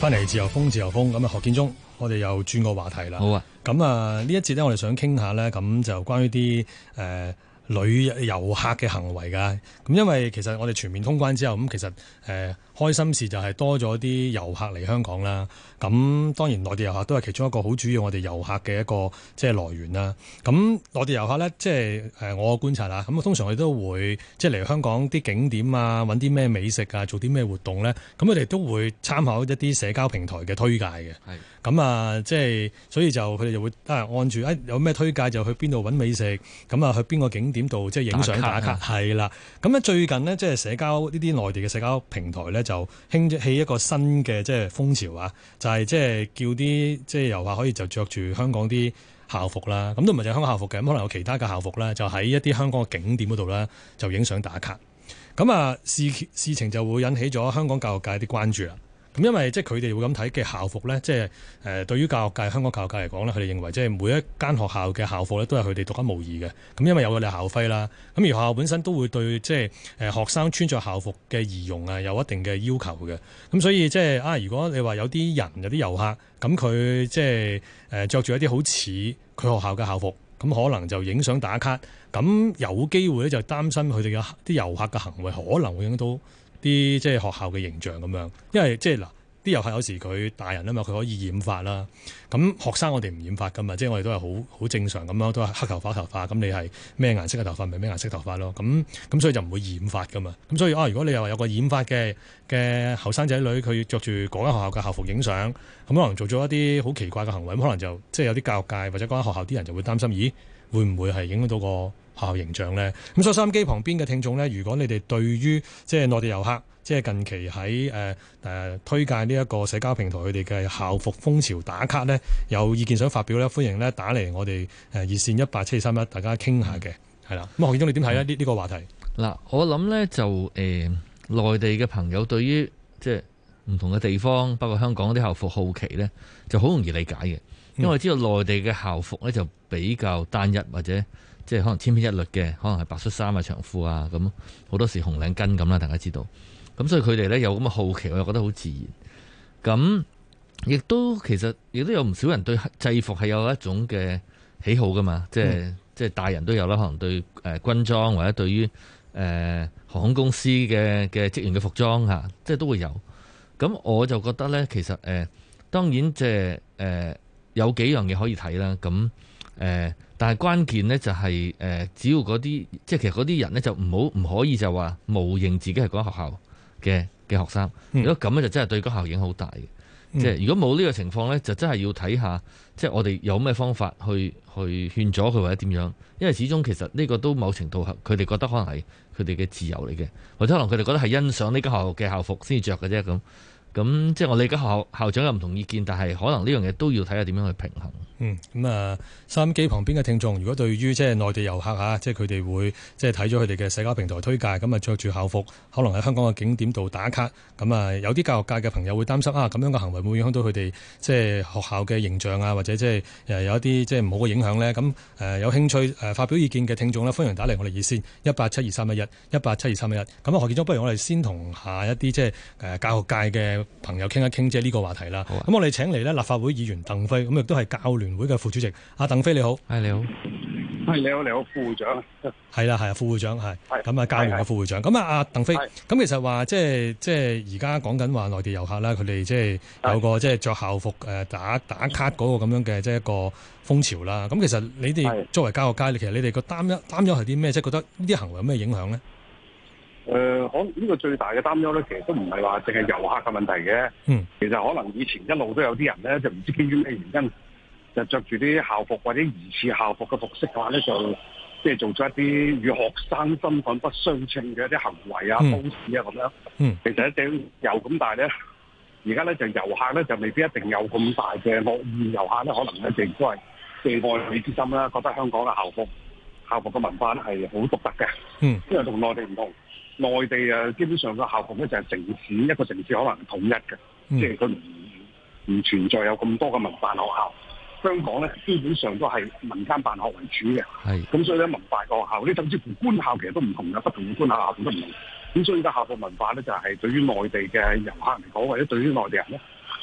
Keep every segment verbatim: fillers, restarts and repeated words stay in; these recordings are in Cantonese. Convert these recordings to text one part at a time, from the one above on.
翻嚟自由風，自由風咁啊，何建中，我哋又轉個話題啦。 好啊， 咁啊，呢一節咧，我哋想傾下咧，咁就關於啲誒旅遊客嘅行為㗎。咁因為其實我哋全面通關之後，咁其實誒、呃、開心事就係多咗啲遊客嚟香港啦。咁當然內地遊客都係其中一個好主要我哋遊客嘅一個即係來源啦。咁內地遊客咧，即係誒我觀察啦。咁通常佢都會即係嚟香港啲景點啊，揾啲咩美食啊，做啲咩活動咧。咁佢哋都會參考一啲社交平台嘅推介嘅。係。咁啊，即係所以就佢哋就會啊按住誒有咩推介就去邊度揾美食，咁啊去邊個景點度即係影相打卡，係啦。咁咧最近呢，即係社交呢啲內地嘅社交平台咧就興起一個新嘅即係風潮啊，就係即係叫啲即係遊客可以就着住香港啲校服啦，咁都唔係就係香港校服嘅，咁可能有其他嘅校服啦，就喺一啲香港嘅景點嗰度啦，就影相打卡。咁啊事事情就會引起咗香港教育界啲關注啦。咁因為即係佢哋會咁睇嘅校服咧，即係誒對於教育界、香港教育界嚟講咧，佢哋認為即係每一間學校嘅校服咧都係佢哋獨一無二嘅。咁因為有佢哋校徽啦，咁而學校本身都會對即係誒學生穿着校服嘅儀容啊有一定嘅要求嘅。咁所以即係啊，如果你話有啲人有啲遊客咁佢即係誒著住一啲好似佢學校嘅校服，咁可能就影相打卡，咁有機會咧就擔心佢哋嘅啲遊客嘅行為可能會影響到啲即係學校嘅形象咁樣，因為即係嗱，啲遊客有時佢大人啊嘛，佢可以染髮啦。咁學生我哋唔染髮噶嘛，即係我哋都係好好正常咁樣，都係黑頭髮頭髮。咁你係咩顏色嘅頭髮，咪咩顏色頭髮咯。咁咁所以就唔會染髮噶嘛。咁所以啊，如果你又話有個染髮嘅嘅後生仔女，佢着住嗰間學校嘅校服影相，咁可能做咗一啲好奇怪嘅行為，咁可能就即係有啲教育界或者嗰間學校啲人就會擔心，咦，會唔會係影響到個學校形象咧？咁所以收音機旁邊嘅聽眾咧，如果你哋對於即係內地遊客，即係近期喺誒誒推介呢一個社交平台佢哋嘅校服風潮打卡咧，有意見想發表咧，歡迎咧打嚟我哋誒熱線一八七二三一，大家傾下嘅，係啦。咁何建中你點睇咧？呢、嗯、呢個話題嗱，我諗咧就誒、呃、內地嘅朋友對於即係唔同嘅地方，包括香港啲校服好奇咧，就好容易理解嘅，因為我知道內地嘅校服咧就比較單一或者。即係可能千篇一律嘅，可能係白恤衫啊、長褲啊，咁好多時紅領巾咁啦，大家知道。咁所以佢哋咧有咁嘅好奇，我又覺得好自然。咁亦都其實亦都有唔少人對制服係有一種嘅喜好噶嘛，即係、嗯、即係大人都有啦，可能對誒、呃、軍裝或者對於誒、呃、航空公司嘅嘅職員嘅服裝嚇，即係都會有。咁我就覺得咧，其實誒、呃、當然即係誒有幾樣嘢可以睇啦。咁誒。呃但係關鍵呢，就係誒，只要嗰啲即係其實嗰啲人呢，就唔好唔可以就話冒認自己係嗰間學校嘅嘅學生。如果咁咧就真係對嗰間學校影響好大嘅。嗯、即係如果冇呢個情況呢，就真係要睇下即係我哋有咩方法去去勸阻佢或者點樣。因為始終其實呢個都某程度佢哋覺得可能係佢哋嘅自由嚟嘅，或者可能佢哋覺得係欣賞呢間學校嘅校服先至着嘅啫咁。咁即係我理解學校校長有唔同意見，但係可能呢樣嘢都要睇下點樣去平衡。 嗯，咁啊，收音機旁邊嘅聽眾，如果對於即係內地遊客嚇，即係佢哋會即係睇咗佢哋嘅社交平台推介，咁啊着住校服，可能喺香港嘅景點度打卡，咁啊有啲教育界嘅朋友會擔心啊，咁樣嘅行為會唔會影響到佢哋即係學校嘅形象啊，或者即係誒有一啲即係唔好嘅影響咧？咁誒有興趣誒發表意見嘅聽眾咧，歡迎打嚟我哋熱線一八七二三一一一八七二三一一。咁啊何建中，不如我哋先同下一啲即係誒教育界嘅朋友傾一傾即係呢個話題啦。咁、啊、我哋請嚟咧立法會議員鄧飛，咁亦都係教聯會嘅副主席。阿鄧飛你好， 係你好， 係你好，你好副會長， 係啦係啊副會長係，咁啊教聯嘅副會長，咁啊阿鄧飛，咁其實話即係即係而家講緊話內地遊客啦，佢哋即係有個即係着校服誒打打卡嗰個咁樣嘅即係一個風潮啦。咁其實你哋作為教育界，其實你哋個擔憂擔憂係啲咩？即係覺得呢啲行為有咩影響咧？ 誒、呃，可呢個最大嘅擔憂咧，其實都唔係話淨係遊客嘅問題嘅。嗯，其實可能以前一路都有啲人咧，就唔知基於咩原因。就着住啲校服或者疑似校服嘅服飾嘅話咧，就即係做咗一啲與學生身份不相稱嘅一啲行為啊、方式啊咁樣。嗯，其實一定有咁，但係咧，而家咧就遊客咧就未必一定有咁大嘅惡意。遊客咧可能咧亦都係嘅愛美之心啦，覺得香港嘅校服校服嘅文化咧係好獨特嘅。嗯，因為同內地唔同，內地啊基本上個校服咧就係城市一個城市可能係統一嘅，嗯、即係佢唔唔存在有咁多嘅民辦學校。香港咧基本上都係民間辦學為主嘅，係咁所以咧文化個學校，呢甚至乎官校其實都唔同嘅，不同嘅官校校都唔同。咁所以而家校服文化咧就係、是、對於內地嘅遊客嚟講，或者對於內地人咧，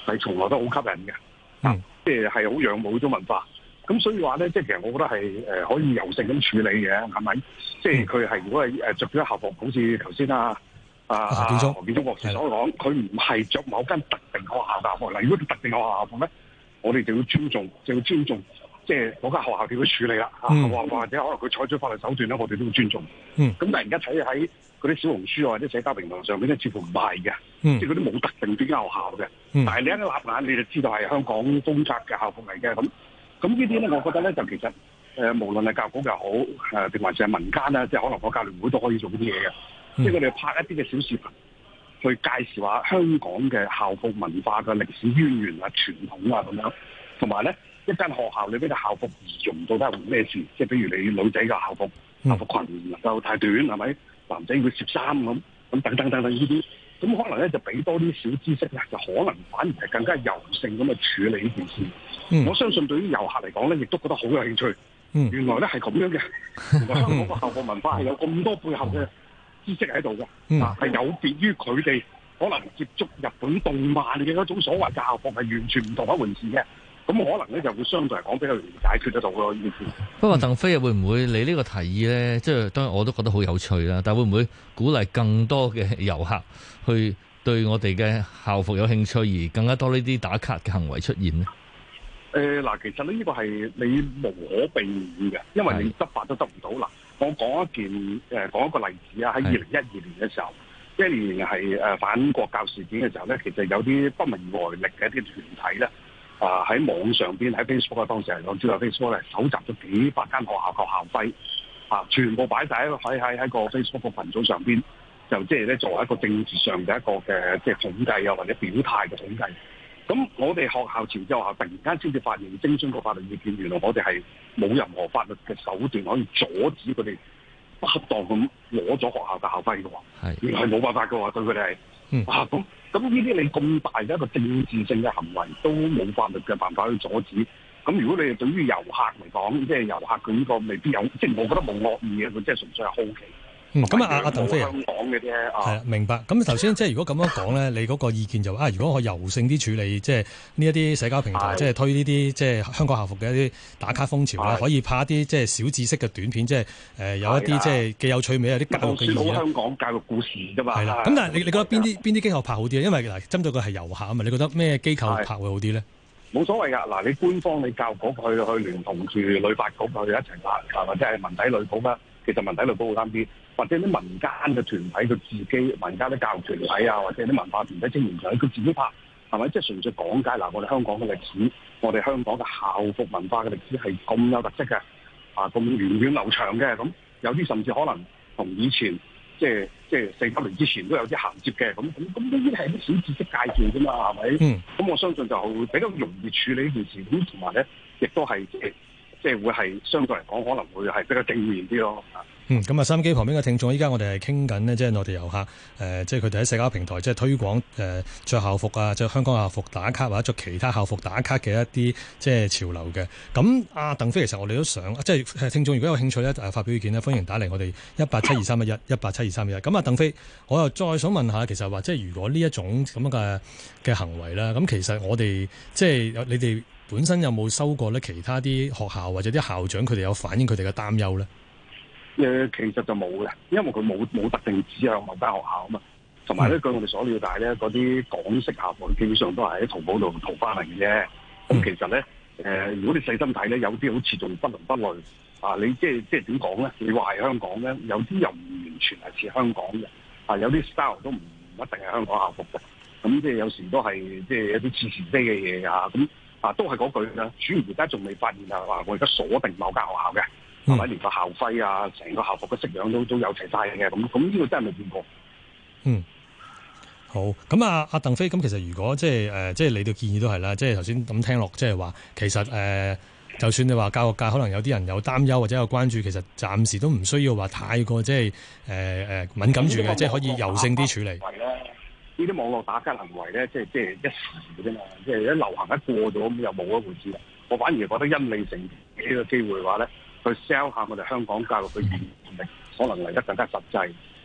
係從來都好吸引嘅， 嗯， 即係係好仰慕呢種文化。咁所以話咧，即係其實我覺得係誒可以柔性咁處理嘅，係咪？即係佢係如果係誒著咗校服，好似頭先啊啊何建忠何建忠博士所講，佢唔係着某間特定學校校服。嗱，如果特定學校校服咧，我哋就要尊重，就要尊重，即係嗰間學校點樣處理啦。或、嗯、或者可能佢採取法律手段咧，我哋都要尊重。 嗯。咁但係而家睇喺嗰啲小紅書或者社交平台上面咧，似乎唔係嘅， 嗯、 即係嗰啲冇特定邊間學校嘅。 嗯、 但係你一立眼你就知道係香港公察嘅校服嚟嘅咁。咁呢啲咧，我覺得咧就其實誒、呃，無論係教育局又好，誒、呃、定還是係民間啦，即係可能個教聯會都可以做啲嘢嘅。即係佢哋拍一啲嘅小視頻，去介紹下香港嘅校服文化嘅歷史淵源啊、傳統啊咁樣。同埋咧，一間學校裏邊嘅校服儀容到底係咩事？即係比如你女仔嘅校服，校服裙唔能夠太短，係咪？男仔要攝衫咁，咁等等等等呢啲。咁可能咧就俾多啲小知識咧，就可能反而係更加柔性咁去處理呢件事。嗯、我相信對於遊客嚟講咧，亦都覺得好有興趣。嗯、原來咧係咁樣嘅，原來香港個校服文化係有咁多背後嘅知識喺度嘅，啊、嗯，係有別於佢哋可能接觸日本動漫嘅嗰種所謂嘅校服係完全唔同一回事嘅。咁可能咧就會相對嚟講比較容易解決得到咯呢件事。 不過鄧飛會唔會你呢個提議咧？即係當然我都覺得好有趣啦。但係會唔會鼓勵更多嘅遊客去對我哋嘅校服有興趣，而更加多呢啲打卡嘅行為出現呢？ 誒嗱、呃，其實呢呢個係你無可避免嘅，因為你執法都得唔到。嗱，我講一件誒、呃、講一個例子啊，喺二零一二年嘅時候，一年係誒反國教事件嘅時候咧，其實有啲不明來歷嘅一啲團體咧。啊！喺網上邊喺 Facebook 啊，當時係我知道 Facebook 咧，搜集咗幾百間學校嘅校徽，啊，全部擺晒喺喺喺喺個 Facebook 個群組上邊，就即係咧作為一個政治上嘅一個嘅即係統計啊，或者表態嘅統計。咁我哋學校前之後突然間先至發現徵詢個法律意見，原來我哋係冇任何法律嘅手段可以阻止佢哋不恰當咁攞咗學校嘅校徽嘅喎。係，原來係冇辦法嘅喎，對佢哋係。嗯、啊，咁咁呢啲你咁大嘅一個政治性嘅行為都冇法律嘅辦法去阻止。咁如果你係對於遊客嚟講，即係遊客佢呢個未必有，即係我覺得冇惡意嘅，佢即係純粹係好奇。 嗯，咁啊，阿阿鄧飛啊， 香港嘅啫， 係啊，明白。咁頭先即係如果咁樣講咧，你嗰個意見就啊，如果可以柔性啲處理，即係呢一啲社交平台，即係推呢啲即係香港校服嘅一啲打卡風潮咧，可以拍一啲即係小知識嘅短片，即係誒有一啲即係既有趣味，有啲教育嘅意義。 香港教育故事啫嘛。 係啦。咁但係你你覺得邊啲邊啲機構拍好啲咧？因為嗱，針對佢係遊客啊嘛，你覺得咩機構拍會好啲咧？ 冇所謂㗎。嗱，你官方你教育局去去聯同住旅發局去一齊拍，或者係文體旅局啦。其實文體旅局好啱啲。或者啲民間嘅團體佢自己，民間啲教育團體啊，或者啲文化團體、青年團體佢自己拍，係咪？即係純粹講解嗱，我哋香港嘅歷史，我哋香港嘅校服文化嘅歷史係咁有特色嘅，啊咁源遠流長嘅，咁有啲甚至可能同以前即係即係四九年之前都有啲銜接嘅，咁咁咁呢啲係啲小知識介紹啫嘛，係咪？嗯。咁我相信就比較容易處理呢件事，咁同埋咧，亦都係即係即係會係相對嚟講可能會係比較正面啲咯。 嗯，咁啊，收音機旁邊嘅聽眾，依家我哋係傾緊呢，即係內地遊客，誒、呃，即係佢哋喺社交平台即係推廣誒著校服啊，着香港校服打卡或者着其他校服打卡嘅一啲即係潮流嘅。咁阿鄧飛，其實我哋都想，即係聽眾如果有興趣咧，誒發表意見咧，歡迎打嚟我哋一八七二三一一一八七二三一一。咁啊，鄧飛，我又再想問下，其實話即係如果呢一種咁樣嘅嘅行為啦，咁其實我哋即係你哋本身有冇收過咧其他啲學校或者啲校長佢哋有反映佢哋嘅擔憂咧？ 誒其實就冇嘅，因為佢冇冇特定指向某間學校啊嘛。同埋咧，據我哋所了解咧，嗰啲港式校服基本上都係喺淘寶度淘翻嚟嘅啫。咁、嗯、其實咧，誒、呃、如果你細心睇咧，有啲好似仲不倫不類啊！你即係即係點講咧？你話係香港咧，有啲又唔完全係似香港嘅啊，有啲 style 都唔一定係香港校服嘅。咁即係有時都係即係一啲似是非嘅嘢啊！咁啊，都係嗰句啦。主要而家仲未發現係話我而家鎖定某間學校嘅。係咪、嗯、連個校徽啊，成個校服嘅式樣都都有齊晒嘅？咁咁呢個真係未見過。嗯， 好。咁啊，阿鄧飛，咁其實如果即係誒，即係你哋建議都係啦，即係頭先咁聽落，即係話其實誒、呃，就算你話教育界可能有啲人有擔憂或者有關注，其實暫時都唔需要話太過即係誒誒敏感住嘅，即係可以柔性啲處理。 呢啲網絡打卡行為咧，即係即係一時嘅啫嘛，即係一流行一過咗咁又冇一回事啦。我反而覺得因你成呢個機會嘅話咧，去 sell 下我哋香港教育嘅原力，可能嚟得更加實際。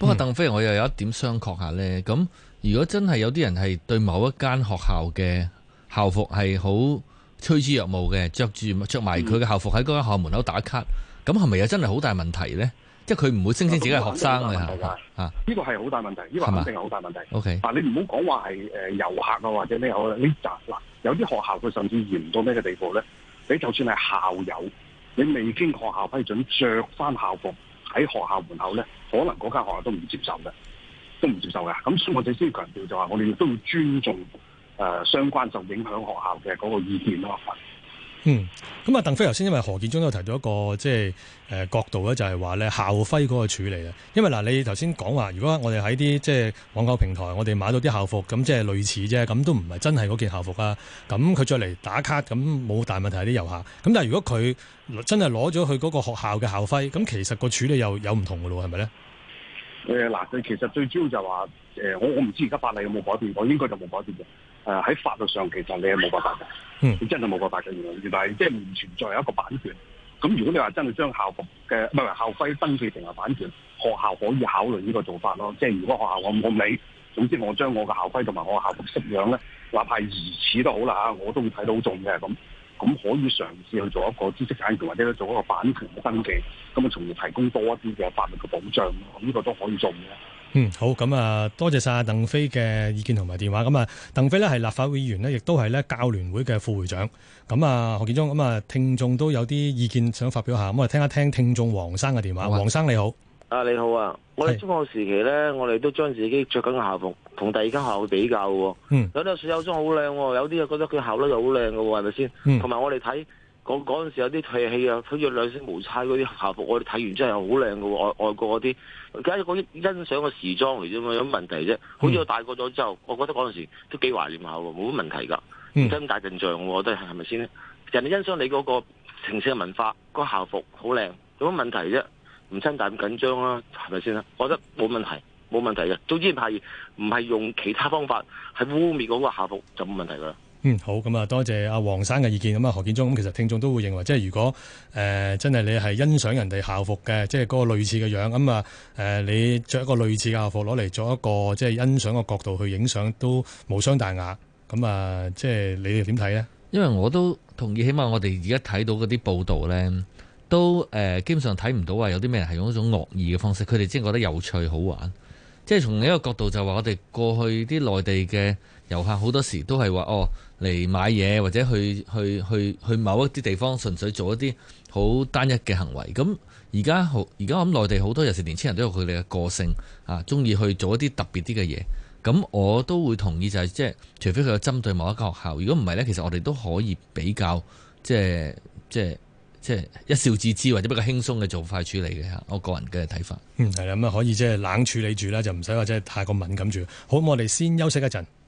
不過鄧飛，我又有一點商榷下呢。咁如果真係有啲人係對某一間學校嘅校服係好趨之若鶩嘅，着住着埋佢嘅校服喺嗰間學校門口打卡，咁係咪又真係好大問題呢？即係佢唔會聲稱自己係學生嘅嚇。啊， 呢個係好大問題，呢個肯定係好大問題。 O K， 但你唔好講話係誒遊客啊，或者咩好啦。呢集嗱，有啲學校佢甚至嚴到咩嘅地步咧？你就算係校友，你未經學校批准着翻校服喺學校門口咧，可能嗰間學校都唔接受嘅，都唔接受嘅。咁所以我哋先強調就話，我哋亦都要尊重誒、呃、相關受影響學校嘅嗰個意見咯。 嗯，咁啊，鄧飛頭先因為何建忠都提到一個即係誒角度咧，就係話咧校徽嗰個處理啊。因為嗱，你頭先講話，如果我哋喺啲即係網購平台，我哋買到啲校服，咁即係類似啫，咁都唔係真係嗰件校服啊。咁佢着嚟打卡，咁冇大問題係啲遊客。咁但係如果佢真係攞咗去嗰個學校嘅校徽，咁其實個處理又有唔同嘅咯，係咪咧？ 誒嗱，佢其實最主要就係話誒，我我唔知而家法例有冇改變，我應該就冇改變嘅。誒、呃、喺法律上其實你係冇辦法嘅，嗯，你真係冇辦法嘅，原來原來即係唔存在有一個版權。咁如果你話真係將校服嘅唔係校徽登記成為版權，學校可以考慮呢個做法咯。即係如果學校我唔理，總之我將我嘅校徽同埋我嘅校服式樣咧，哪怕係疑似都好啦嚇，我都會睇到中嘅。咁咁可以嘗試去做一個知識產權或者做一個版權嘅登記，咁啊從而提供多一啲嘅法律嘅保障。咁呢個都可以做嘅。 嗯，好，咁啊，多謝晒鄧飛嘅意見同埋電話。咁啊，鄧飛呢係立法會議員呢，亦都係咧教聯會嘅副會長。咁啊，何建忠，咁啊，聽眾都有啲意見想發表下，咁我哋聽一聽聽眾黃生嘅電話。黃生你好， 啊你好啊，我哋中學時期咧，我哋都將自己着緊嘅校服同第二間學校去比較嘅。嗯，有啲水有裝好靚，有啲又覺得佢效率又好靚嘅，係咪先？嗯，同埋我哋睇。嗰嗰陣時有啲退氣啊，好似兩星無猜嗰啲校服，我哋睇完真係好靚嘅喎，外外國嗰啲，而家嗰啲欣賞嘅時裝嚟啫嘛，有乜問題啫？好似我大個咗之後，我覺得嗰陣時都幾懷念下喎，冇乜問題㗎，唔使咁大陣仗，我覺得係咪先？人哋欣賞你嗰個城市嘅文化，嗰個校服好靚，有乜問題啫？唔使咁大咁緊張啦，係咪先啊？我覺得冇問題，冇問題嘅。總之係唔係用其他方法係污蔑嗰個校服就冇問題㗎啦。 嗯，好，咁啊，多謝阿黃生嘅意見。咁啊，何建忠，咁其實聽眾都會認為，即係如果誒、呃、真係你係欣賞人哋校服嘅，即係嗰個類似嘅樣，咁啊誒你着一個類似嘅校服攞嚟做一個即係欣賞嘅角度去影相，都無傷大雅。咁啊，即係你哋點睇呢？ 因為我都同意，起碼我哋而家睇到嗰啲報道呢，都誒、呃、基本上睇唔到話有啲咩人係用一種惡意嘅方式，佢哋真係覺得有趣好玩。即係從另一個角度就話，我哋過去啲內地嘅遊客好多時都係話哦嚟買嘢，或者去去去去某一啲地方純粹做一啲好單一嘅行為。咁而家好而家我諗內地好多有時年輕人都有佢哋嘅個性啊，中意去做一啲特別啲嘅嘢。咁我都會同意就係即係除非佢有針對某一間學校，如果唔係呢，其實我哋都可以比較即係即係。即係一笑置之或者比較輕鬆嘅做法處理嘅嚇，我個人嘅睇法。 嗯，係啦，咁啊可以即係冷處理住啦，就唔使話即係太過敏感住。好，我哋先休息一陣。